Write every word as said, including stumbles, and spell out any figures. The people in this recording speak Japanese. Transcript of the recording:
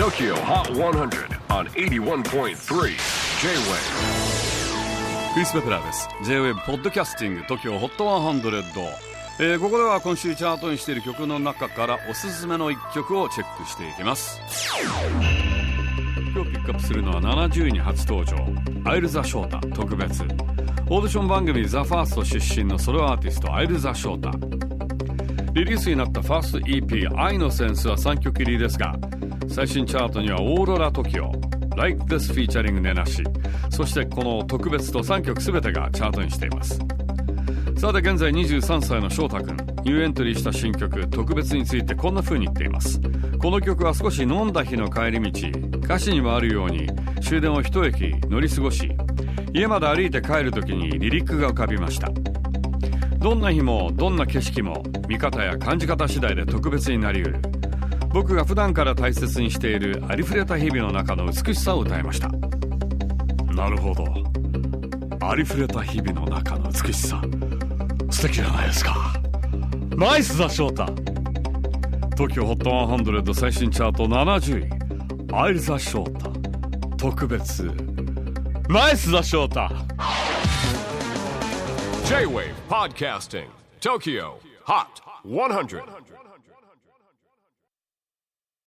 Tokyo Hot one hundred on エイティワンポイントスリー J-Wave。 クリス・ベプラーです。 J-Wave ポッドキャスティング Tokyo Hot ワンハンドレッド、えー、ここでは今週チャートにしている曲の中からおすすめのいっきょくをチェックしていきます。今日ピックアップするのはななじゅういに初登場、アイルザ・ショータ特別。オーディション番組ザ・ファースト出身のソロアーティストアイルザ・ショータ。リリースになったファースト イーピー 愛のセンスはさんきょく入りですが、最新チャートにはオーロラ TOKIO、 Like This Featuring ネナシ、そしてこの特別とさんきょくすべてがチャートにしています。さて現在にじゅうさんさいの翔太くん、ニューエントリーした新曲特別についてこんな風に言っています。この曲は少し飲んだ日の帰り道、歌詞にもあるように終電を一駅乗り過ごし、家まで歩いて帰る時にリリックが浮かびました。どんな日もどんな景色も見方や感じ方次第で特別になりうる。僕が普段から大切にしているありふれた日々の中の美しさを歌いました。なるほど、ありふれた日々の中の美しさ、素敵じゃないですか。ナイスだ翔太。 Tokyo Hot ワンハンドレッド最新チャートななじゅうい、アイルザ翔太特別。ナイスだ翔太。 J-Wave Podcasting Tokyo Hot ワンハンドレッド